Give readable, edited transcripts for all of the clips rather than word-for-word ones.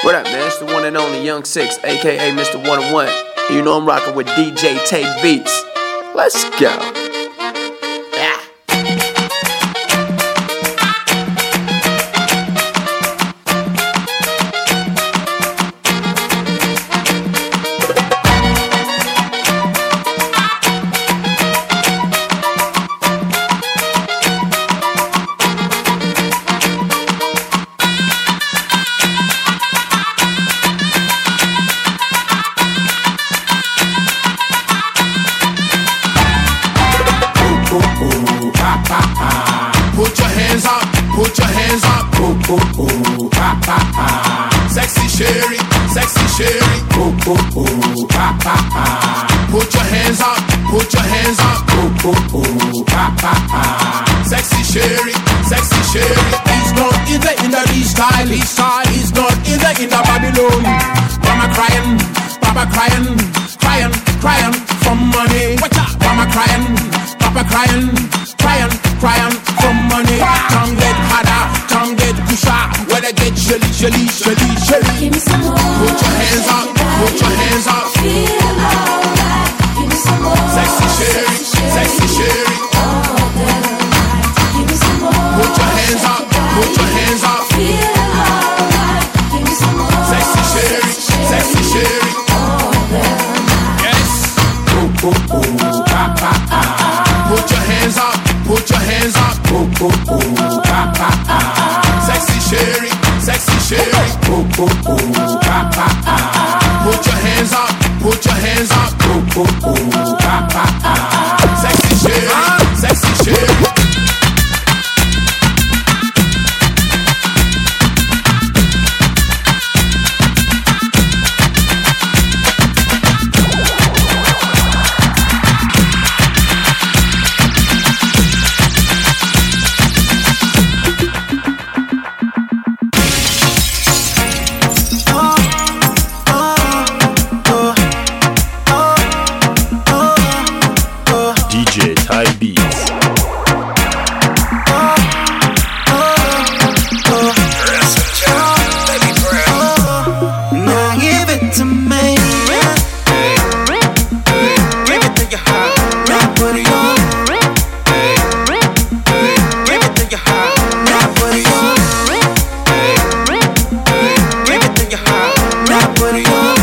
What up, man? It's the one and only Young Six, aka Mr. 101. You know I'm rocking with DJ Tay Beats. Let's go. Put your hands up, put your hands up. Ooh, ooh, ooh, ah, ah, ah. Sexy Sherry, sexy Sherry. Ooh, ooh, ooh, ah, ah, ah. Put your hands up, put your hands up. Ooh, ooh, ooh, ah, ah, ah. Sexy Sherry, sexy Sherry. He's not in the East style, East style. He's not in the Babylon. Mama crying, Papa crying, crying, crying for money. Mama crying, Papa crying, crying, crying for money. Tongue get harder, tongue get pusher. When I get shelly, shelly, shelly, shelly. Give me some more. Put your hands up, put your hands up. Feel alright. Give me some more. Sexy Sherry, sexy Sherry. All the night. Give me some more. Put your hands up, put your hands up. Feel alright. Give me some more. Sexy Sherry, sexy Sherry. All the night. Yes. Ooh, ooh, ooh, ah, ah, ah. Put your hands up, put your hands up. Ooh, ooh, ooh, ah, ah, ah. Sexy Sherry, sexy Sherry. Ooh, ooh, ooh, ah, ah, ah. Put your hands up, put your hands up. Ooh, ooh, ooh, ah, ah, ah. Sexy Sherry, sexy Sherry. DJ Tay Beats. Now give it to me. Give it to your heart. Now put it on. Give it to your heart. Now put it on. Give it to your heart. Now put it on.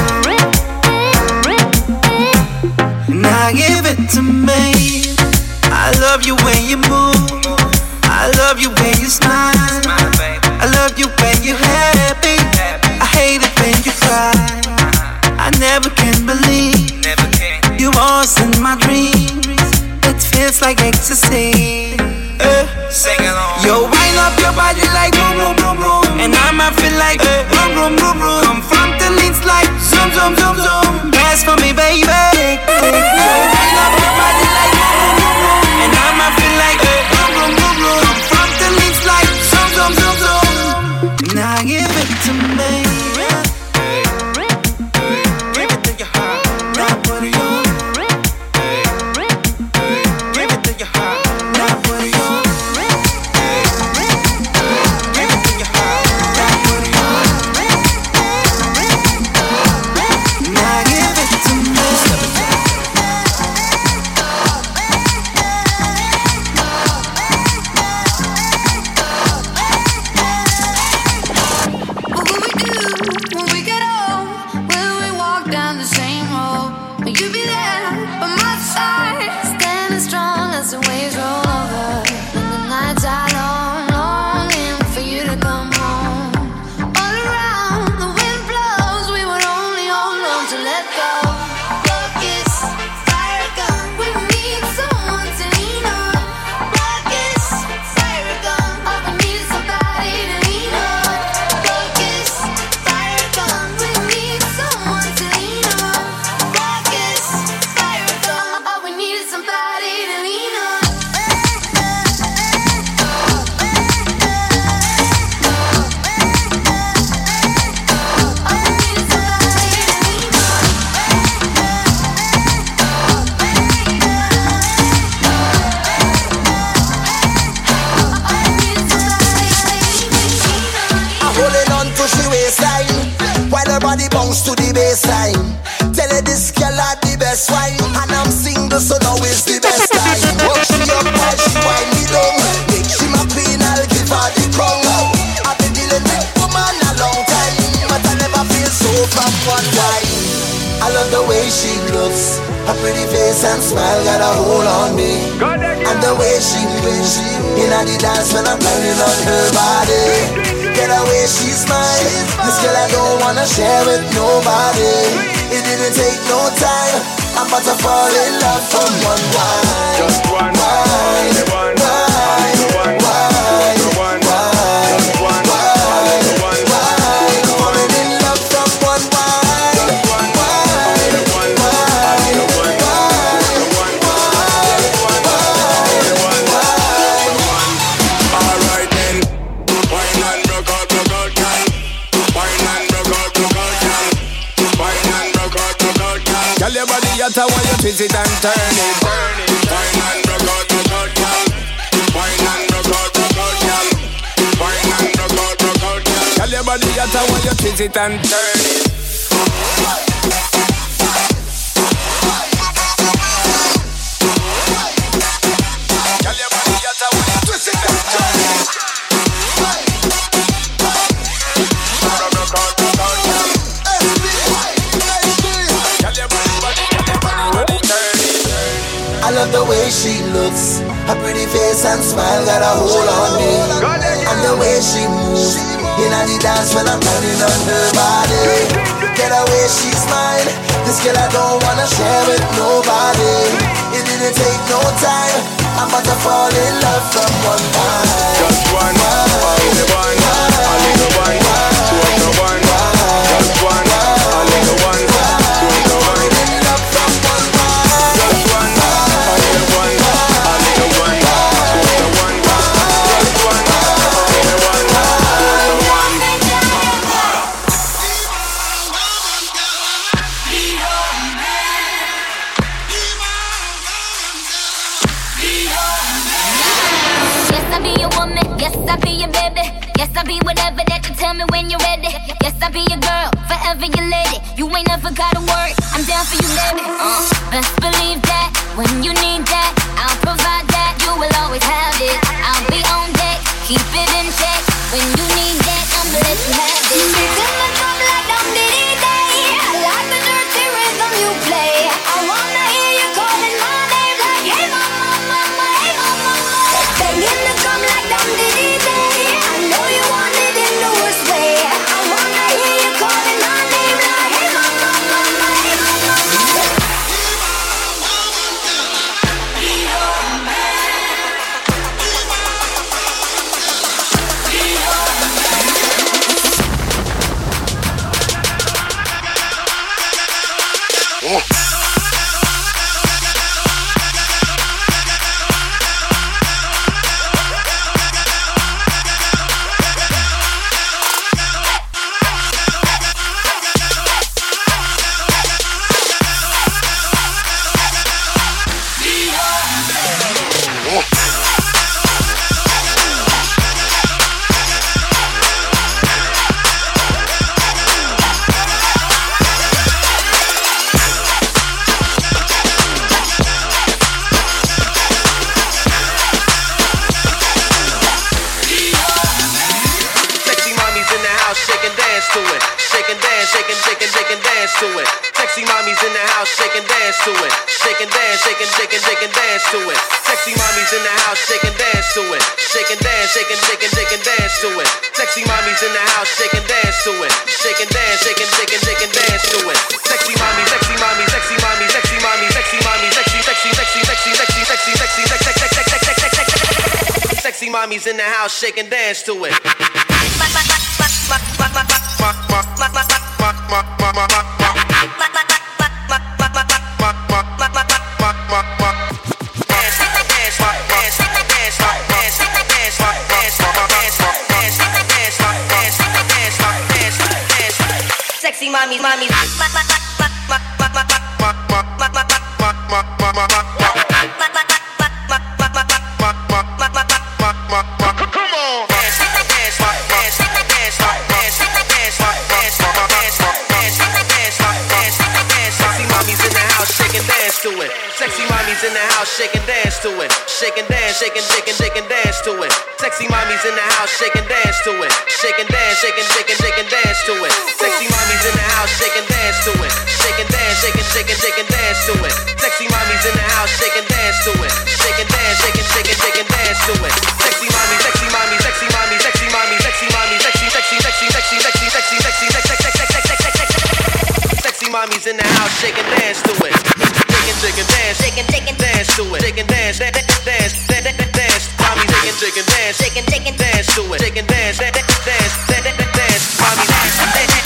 Now give it to me. I love you when you move. I love you when you smile. I love you when you're happy. I hate it when you cry. I never can believe you was in my dreams. It feels like ecstasy. Sing along. Yo, wind up your body like boom, boom, boom, boom. And I might feel like boom, boom, boom, boom. Come from the links like zoom, zoom, zoom, zoom. Dance for me, baby. Yo, wind up your body like boom, boom, boom, boom. And I might feel like boom, boom, boom, boom. Come from the links like zoom, zoom, zoom, zoom. Now give it to me. Give it to your heart. Now put it on. Give it to your heart. Now put it on. Give it to your heart. Now put it on. Now give it to me. What will we do when we bounce to the baseline. Tell her this girl are the best wine, and I'm single, so now is the best time. Walk she up while she wind me down. Make she my queen, I'll give her the crown. I've been dealing with woman a long time, but I never feel so from one wine. I love the way she looks, her pretty face and smile got a hold on me. And the way she moves in the dance when I'm grinding on her body. Get away, she's mine. This girl I don't wanna share with nobody. It didn't take no time, I'm about to fall in love from one wine. Just one wine, one wine, one wine, one wine, just one wine, one wine. Falling in love from one wine, one wine, one wine, one Alright then, wine and rock out, girl. Wine and rock out, girl. Wine and rock out, girl. Tell your body at a while you twist it and turn it. Wine and rock out, girl. Wine and rock out, girl. Wine and rock out, girl. Tell your body at a while you twist it and turn it. Tell your body at a while you twist it and turn it. Rock out, girl. Tell your body turn it. I love the way she looks, her pretty face and smile got a hold on me. And the way she moves in the dance when I'm grinding on her body. Get away, she's mine. This girl I don't wanna share with nobody. It didn't take no time, I'm about to fall in love from one wine. Just one, only one, a little one, two of the one. Just one, a little one, two of the one. In love from one wine. Just one, a little one, a little one, two of the one. Just one, a little one, two of the one. Yes, I be your woman. Yes, I be your baby. Yes, I be whatever that you tell me when you're ready. Yes, I be your girl, forever your lady. You ain't never gotta worry, I'm down for you, baby. Best believe that when you need that, I'll provide that. You will always have it. I'll be on deck, keep it in check. When you need that, I'ma let you have it. Beats in the drum like Dum Diddy Day. I like the dirty rhythm you play. I wanna hear you calling my name like, hey mama, mama, hey mama. Banging the drum like Dum Diddy Day. I know you want it in the worst way. I wanna hear you calling my name like, hey mama, mama, hey mama. Sexy mommies in the house, shake and dance to it. Shake and dance, shake and shake and shake and dance to it. Sexy mommies in the house, shake and dance to it. Shake and dance, shake and shake and shake and dance to it. Sexy mommies in the house, shake and dance to it. Shake and dance, shake and shake and shake and dance to it. Sexy mommies in the house, shake and dance to it. Shake and dance, shake and shake and shake and dance to it. Sexy mommy, sexy mommy, sexy mommy, sexy mommy, sexy mommy, sexy, sexy, sexy, sexy, sexy, sexy, sexy, sexy, sexy mommies in the house, shake and dance to it. Sexy mommies, mommies. mommies in the house, shake and dance to it. Shake and dance, shake and shake and shake and dance to it. Sexy mommies in the house, shake and dance to it. Shake and dance, shake and shake and shake and dance to it. Sexy mommies in the house, shake and dance to it. Shake and dance, shake and shake and shake and dance to it. Sexy mommies in the house, shake and dance to it. Shake and dance, shake and shake and shake and dance to it. Sexy mommy, sexy mommy, sexy mommy, sexy mommy, sexy mommy, sexy, sexy, sexy, sexy, sexy, sexy, sexy, sexy mommies in the house, shake and dance to it. Shake and dance, shake and dance to it. Shake and dance, dance, dance. Mommy, shake and dance, dance to it. Shake and dance, dance. Mommy, dance.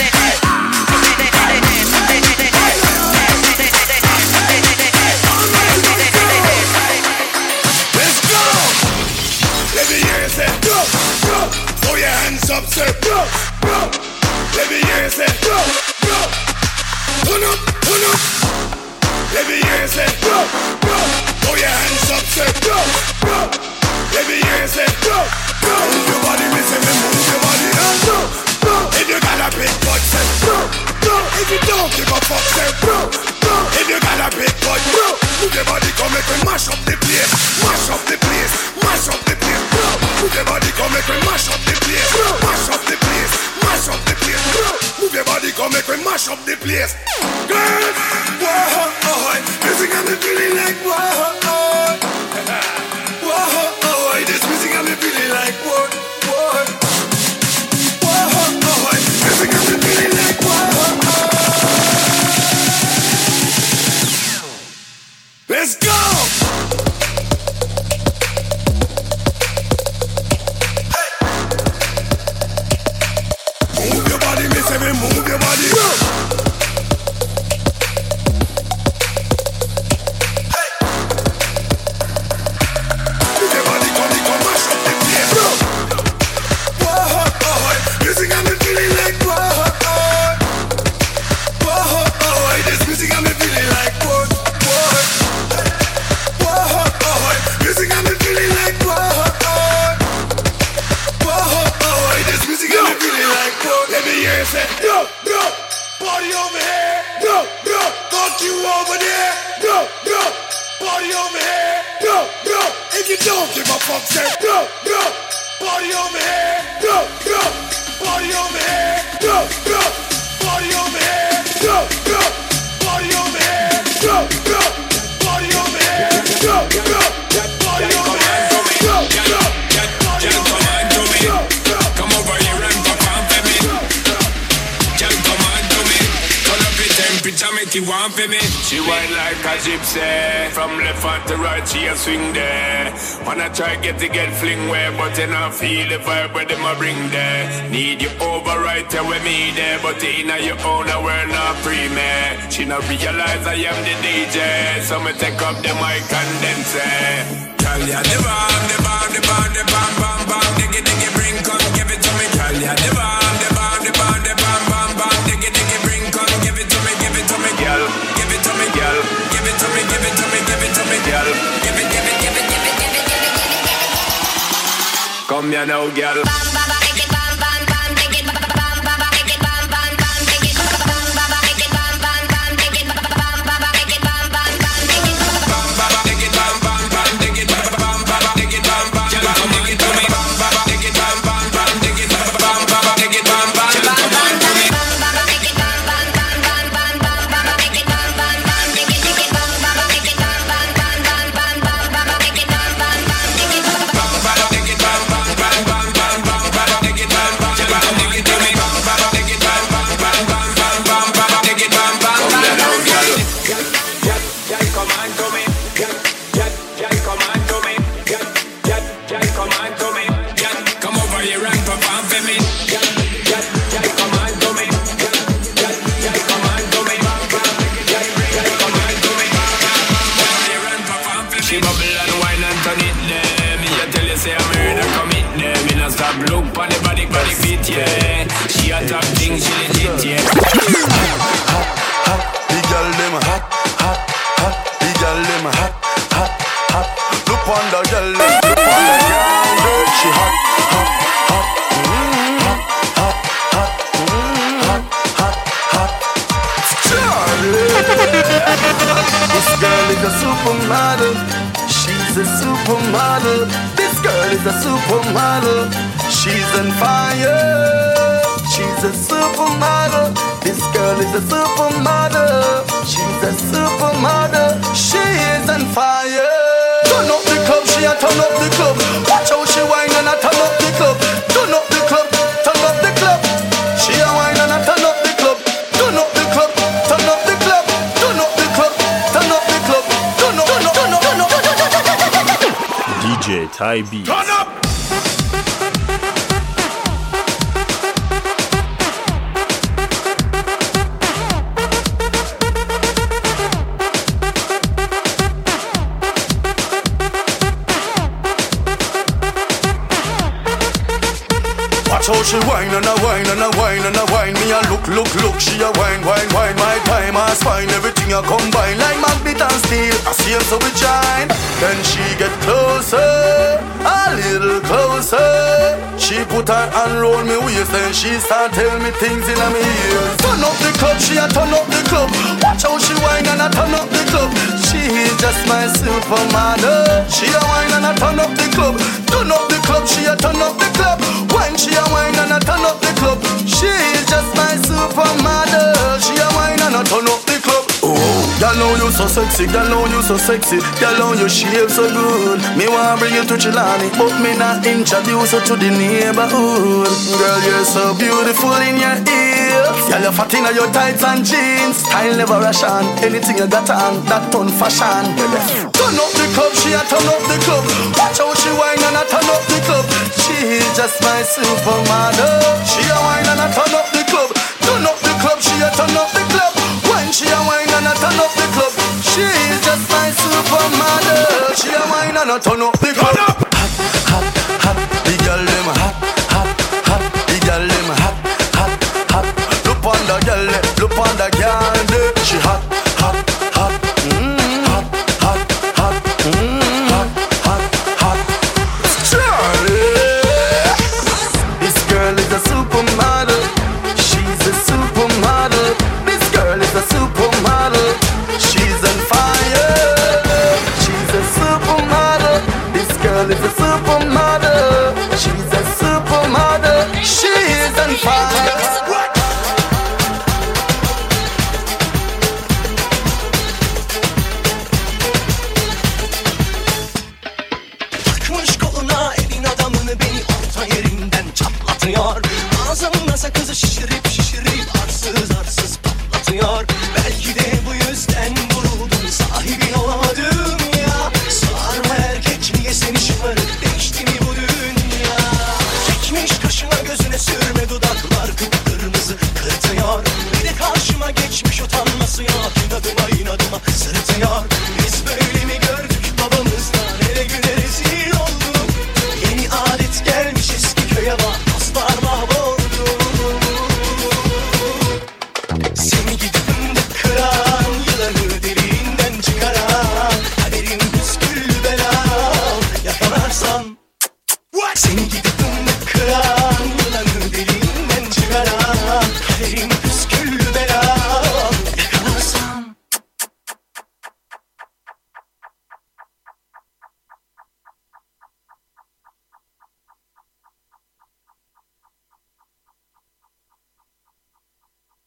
Let's go. Let me hear you say go, go. Throw your hands up, say go, go. Let me hear you say go, go. Turn up, turn up. Let me hear you say go, go. Throw your hands up, say go, go. Let me hear you say go, go. Move your body, me say me move your body and go, go. If you got a big butt, say go, go. If you don't give a fuck, say go, go. If you got a big butt, go. Move your body, come make me mash up the place, mash up the place, mash up the place, go. Move your body, come make me mash up the place, mash up the place, mash up the place, go. Move your body, come make me mash up the place, girl. Whoa, music got me feeling like whoa, whoa, this music got me feeling like whoa, music got me feeling like whoa. Let's go. Move your body, miss every move your body. Go. Move your body, come mash up the place. Go. Whoa, music got me feeling like whoa, this music got me feeling like whoa, music got me feeling like whoa, this music got me feeling like whoa. Let me hear you say go, go, party over here, go, go, fuck you over there, go, go, party over here, go, go. If you don't give a fuck, say go, go, party over here, go, go, party over here, go, go, party over here, go, go, party over here, go, go, party over here, go, go, party over here, go, go, Come over here and perform for me. Girl, come on to me. Turn up the temperature, make you warm for me. She whine like a gypsy. From left hand to right, she a swing there. Wanna try get fling way, but you not feel the vibe where them a bring there. Need you over right there with me there, but in your own we're not free, man. She not realize I am the DJ, so me take up the mic and then say, girl, yeah, the bomb, the bomb, the bomb, the bomb, bomb, bomb, diggy, diggy, bring, come give it to me, girl, yeah, the bomb, the bomb, the bomb, the bomb, bomb, bomb, diggy, diggy, bring, come give it to me, girl, give it to me, girl, give it to me, give it to me, give it to me, girl, give it, give it, give it, give it, give it, give it, give it, give it. Come here now, girl. This girl is a supermodel. She's a supermodel. This girl is a supermodel. She's on fire. She's a supermodel. This girl is a supermodel. She's a supermodel. She is on fire. Turn up the club, she a turn up the club. Watch how she whine and a turn up the club. Turn up the club, turn up the club. She a whine and a turn up the club. Turn up the club, turn up the club. Turn up the club, turn up the club. Turn up, turn up, turn up, turn up, turn up. DJ Ty B. Turn up. Watch how she whine and a whine and a whine and a whine. Me a look, she a whine, whine, whine. My time has fine, everything a combine like magnet and steel. I see her so we join. Then she get closer, a little closer. She put her hand round me waist and she start tell me things in my ears. Turn up the club, she a turn up the club. Watch how she whine and a turn up the club. She is just my supermodel. She a whine and a turn up the club. Turn up the club, she a turn up the club. When she a whine and a turn up the club. She is just my supermodel. She a whine and a turn up the club. Oh, y'all know you so sexy, y'all know you so sexy. Y'all know you shape so good. Me wanna bring you to Chilani, but me not introduce you to the neighborhood. Girl, you're so beautiful in your ears. Y'all you fat in your tights and jeans. Style never ration. Anything you got on, that turn fashion. Turn up the club, she a turn up the club. Watch how she whine and a turn up the club. She is just my supermodel. She a whine and a turn up the club. Turn up the club, she a turn up the club. When she a whine and a turn up the club. She is just my supermodel. She a whine and a turn up the club. Hot, hot, hot. The girl them hot, hot, hot. The girl them hot, hot, hot. Look on the girl, look on the girl. She hot, hot, hot. Hot, hot, hot. Hot, hot, hot. Charlie. This girl is a supermodel. She's a supermodel. This girl is a supermodel. She's on fire. She's a supermodel. This girl is a supermodel. She's a supermodel. She is on fire. Takmış koluna elin adamını beni orta yerinden çatlatıyor. Ağzımda sakızı şişirip şişirip arsız arsız patlatıyor. Belki de bu yüzden vuruldum, sahibin olamadım ya. Sağır mı erkek niye seni şımarık değişti mi bu dünya? Çekmiş kaşına gözüne sürme dudaklar kıpkırmızı kırtıyor. Bir de karşıma geçmiş utanması yok, inadıma inadıma sırıtıyor. Biz böyle mi gördük babamızdan, hele güne rezil olduk. Yeni adet gelmiş eski köye bak, dostlar mahvoldu. Seni gidip fındık kıran, yılanı derinden çıkaran, kaderin püskül belam yakalarsan. Seni gidip fındık kıran, yılanı derinden çıkaran, kaderin